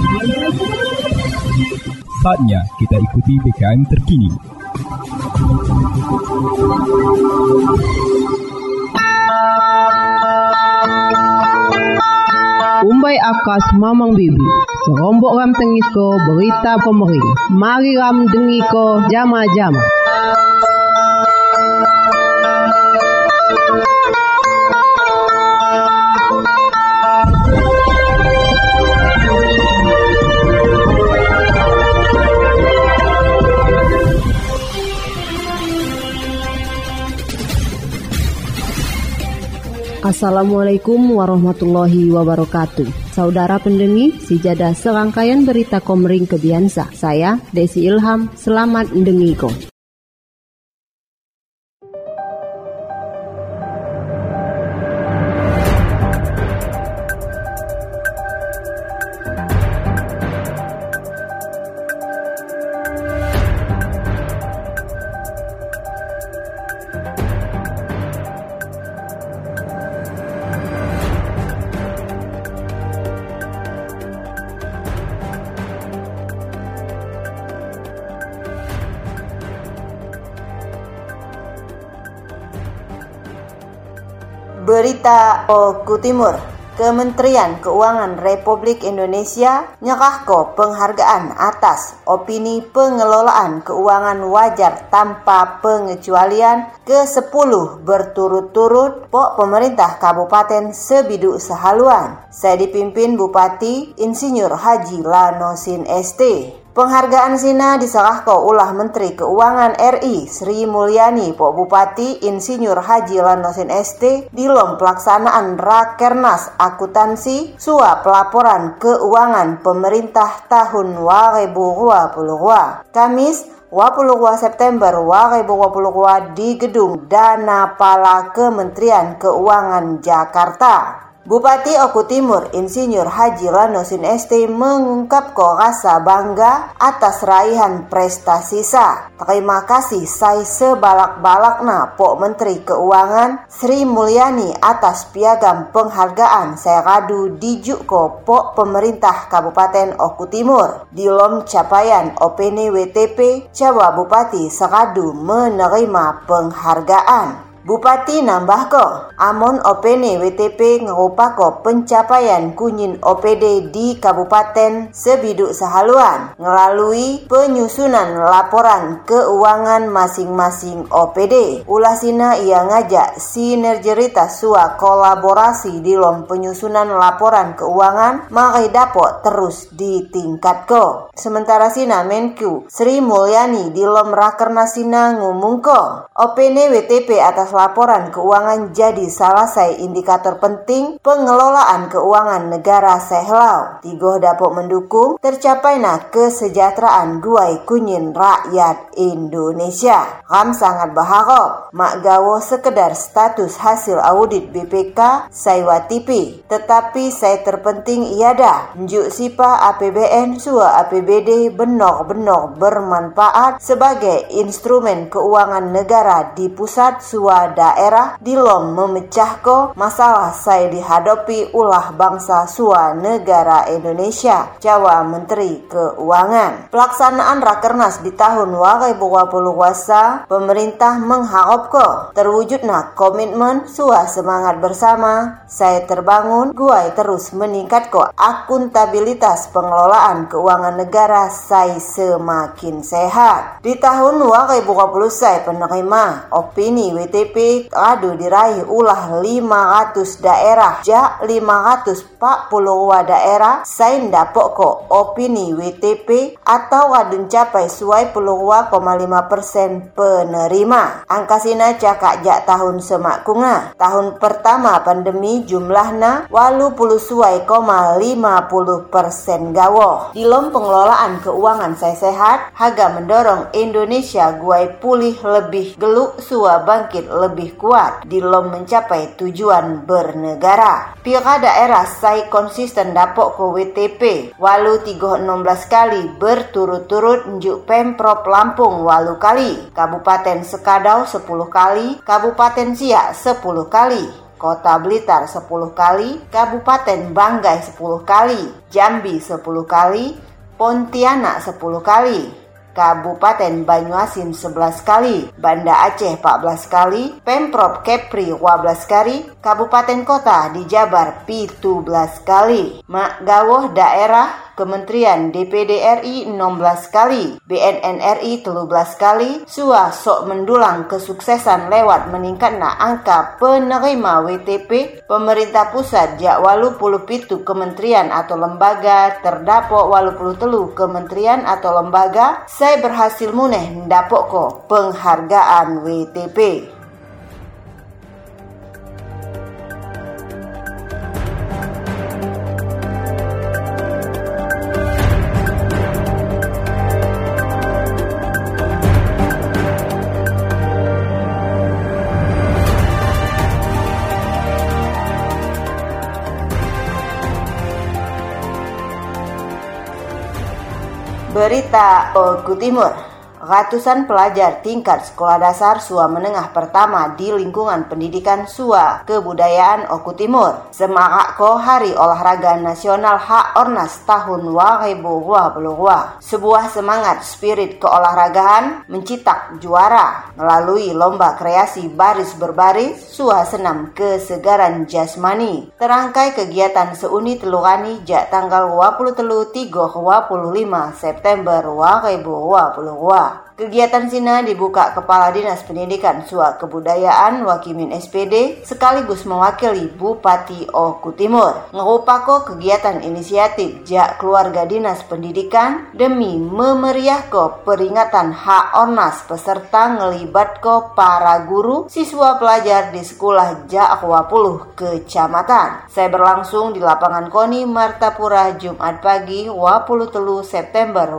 Saatnya kita ikuti PKM terkini. Umbai akas mamang bibi, serombok ram tengiko berita pemerintah. Mari ram dengiko jama-jama. Assalamualaikum warahmatullahi wabarakatuh. Saudara pendengi, sejadah serangkaian berita Komering Kebiansa. Saya Desi Ilham, selamat mendengiko. Berita Oku Timur, Kementerian Keuangan Republik Indonesia nyerahko penghargaan atas opini pengelolaan keuangan wajar tanpa pengecualian ke-10 berturut-turut pemerintah Kabupaten Sebiduk Sehaluan. Saya dipimpin Bupati Insinyur Haji Lanosin ST. Penghargaan sina diserahkan ulah Menteri Keuangan RI Sri Mulyani Pok Bupati Insinyur Haji Lanosin ST di lom pelaksanaan Rakernas Akuntansi Suap Pelaporan Keuangan Pemerintah tahun 2022. Kamis 22 September 2022 di Gedung Dana Pala Kementerian Keuangan Jakarta. Bupati Oku Timur Insinyur Haji Lanosin ST mengungkapkan rasa bangga atas raihan prestasi sa. Terima kasih saya sebalak-balakna Pok Menteri Keuangan Sri Mulyani atas piagam penghargaan saya radu dijuk Pok Pemerintah Kabupaten Oku Timur. Di lom capaian opini WTP Jawa Bupati seradu menerima penghargaan. Bupati nambah amon opene WTP ngerupako pencapaian kunyin OPD di Kabupaten Sebiduk Sehaluan melalui penyusunan laporan keuangan masing-masing OPD. Ulasina ia ngajak sinergitas sua kolaborasi di lom penyusunan laporan keuangan mari dapot terus ditingkatko. Sementara sina Menku Sri Mulyani di lom Rakernas sina ngumungko opene WTP atas laporan keuangan jadi salah satu indikator penting pengelolaan keuangan negara sehlau. Tigoh dapok mendukung tercapainya kesejahteraan guai kunyin rakyat Indonesia. Ram sangat berharap mak gawo sekedar status hasil audit BPK saya tipi. Tetapi saya terpenting iada njuk sipa APBN sua APBD benar-benar bermanfaat sebagai instrumen keuangan negara di pusat sua daerah di lom memecahko masalah saya dihadapi ulah bangsa sua negara Indonesia. Jawa Menteri Keuangan. Pelaksanaan Rakernas di tahun 2020 pemerintah mengharapko terwujudnya komitmen sua semangat bersama saya terbangun guai terus meningkatko akuntabilitas pengelolaan keuangan negara saya semakin sehat. Di tahun 2020 saya penerima opini WTP radu diraih ulah 500 daerah jak 542 daerah sain dapok opini WTP atau radu capai suai 2,5% penerima. Angka sina cakak jak tahun semakunga. Tahun pertama pandemi jumlahna 80,50% gawo. Di lom pengelolaan keuangan saya sehat haga mendorong Indonesia guai pulih lebih geluk sua bangkit lebih kuat di lom mencapai tujuan bernegara. Pira daerah saya konsisten dapok ke WTP walu 316 kali berturut-turut njuk Pemprov Lampung walu kali, Kabupaten Sekadau 10 kali, Kabupaten Siak 10 kali. Kota Blitar 10 kali, Kabupaten Banggai 10 kali, Jambi 10 kali, Pontianak 10 kali, Kabupaten Banyuasin 11 kali, Banda Aceh 14 kali, Pemprov Kepri 12 kali, Kabupaten Kota di Jabar 17 kali, Mak Gawuh Daerah Kementerian DPD RI 16 kali, BNN RI 13 kali, SUA sok mendulang kesuksesan lewat meningkatna angka penerima WTP, pemerintah pusat jak 87 kementerian atau lembaga, terdapok 83 kementerian atau lembaga, saya berhasil muneh ndapok ko penghargaan WTP. Berita Oku Timur. Ratusan pelajar tingkat sekolah dasar SUA menengah pertama di lingkungan pendidikan SUA Kebudayaan Oku Timur semarak ko Hari Olahraga Nasional Hak Ornas tahun 2022. Sebuah semangat spirit keolahragaan mencetak juara melalui lomba kreasi baris berbaris SUA senam kesegaran jasmani. Terangkai kegiatan seuni telurani jak tanggal 23-25 September 2022. Kegiatan Sina dibuka Kepala Dinas Pendidikan SUA Kebudayaan Wakimin SPD sekaligus mewakili Bupati Oku Timur. Ngerupako kegiatan inisiatif jak keluarga Dinas Pendidikan demi memeriahko peringatan Hak Ornas peserta ngelibatko para guru siswa pelajar di sekolah jak 20 kecamatan. Saya berlangsung di lapangan KONI Martapura Jumat pagi 23 September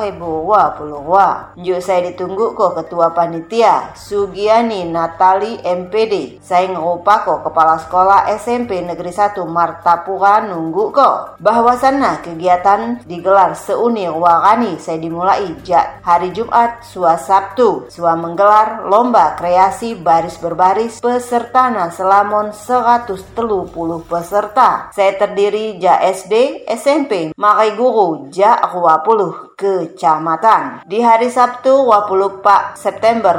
2022. Saya ditunggu ko Ketua Panitia Sugiani Natali MPD. Saya ngerupa ko Kepala Sekolah SMP Negeri 1 Martapura nunggu ko. Bahwasanna kegiatan digelar seuni warani saya dimulai jak hari Jumat SUA Sabtu. SUA menggelar lomba kreasi baris berbaris pesertana selamon 130 peserta. Saya terdiri jak SD, SMP, makai guru jak 20 kecamatan. Di hari Sabtu 24 September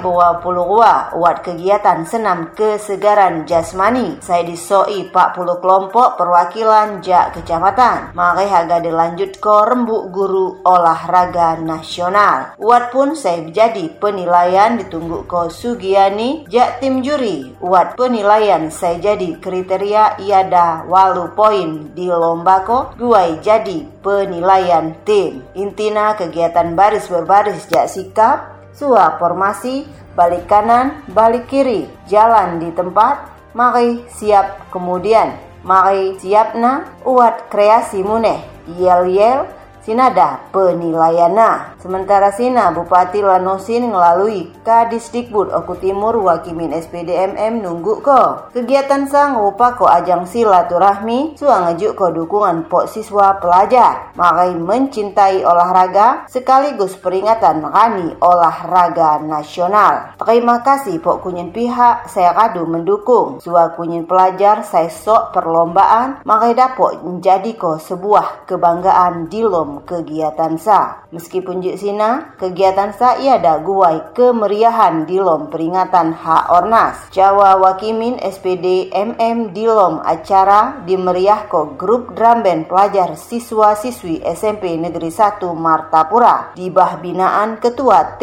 2022 buat kegiatan senam kesegaran jasmani. Saya disoi 40 kelompok perwakilan jak kecamatan. Mari haga dilanjut ko rembuk guru olahraga nasional. Uat pun saya jadi penilaian ditunggu ko Sugiani jak tim juri. Uat penilaian saya jadi kriteria iada 8 poin di lomba ko guai jadi penilaian tim. Intina kegiatan baris berbaris jak sikap, SUA formasi, balik kanan, balik kiri, jalan di tempat, mari siap kemudian, mari siapna, uat kreasi muneh, yel-yel, sinada penilaiana. Sementara Sina Bupati Lanosin melalui Kadisdikbud Oku Timur Wakimin SPD MM nunggu ko. Kegiatan sang rupa ko ajang silaturahmi SUA ngejuk ko dukungan pok siswa pelajar. Makai mencintai olahraga sekaligus peringatan Hari Olahraga Nasional. Terima kasih pok kunyin pihak saya kadu mendukung. SUA kunyin pelajar saya sok perlombaan makai dapok menjadi ko sebuah kebanggaan di lom kegiatan sa. Meskipun jik Sina, kegiatan sa iada guai kemeriahan di lom peringatan Hak Ornas. Jawa Wakimin SPD MM di lom acara dimeriah ko grup drum band pelajar siswa-siswi SMP Negeri 1 Martapura di bawah binaan Ketua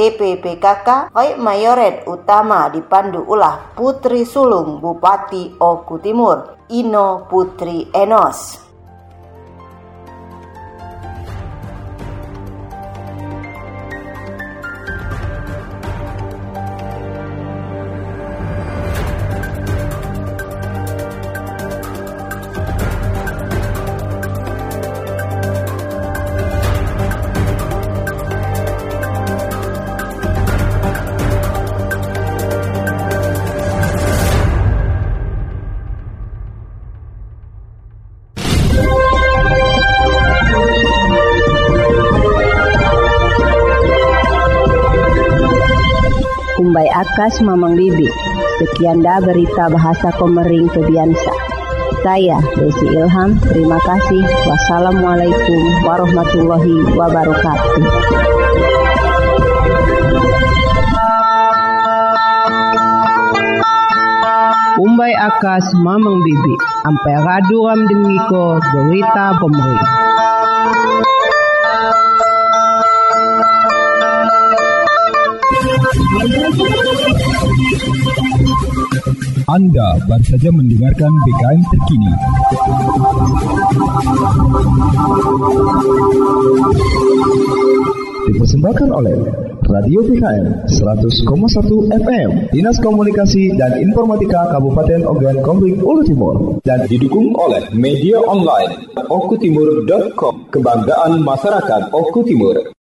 TPPKK Roy Mayoret utama dipandu ulah Putri Sulung Bupati Oku Timur Ino Putri Enos. Kumbai Akas Mamang Bibi Sekian dah berita bahasa Komering Kebiasa. Saya Desi Ilham, terima kasih. Wassalamualaikum warahmatullahi wabarakatuh. Umbai akas mamang bibi, ampai radu ram dengiko berita Komering. Anda baru saja mendengarkan BKM terkini. Dipersembahkan oleh Radio BKM 100,1 FM, Dinas Komunikasi dan Informatika Kabupaten Ogan Komering Ulu Timur, dan didukung oleh media online okutimur.com, kebanggaan masyarakat Oku Timur.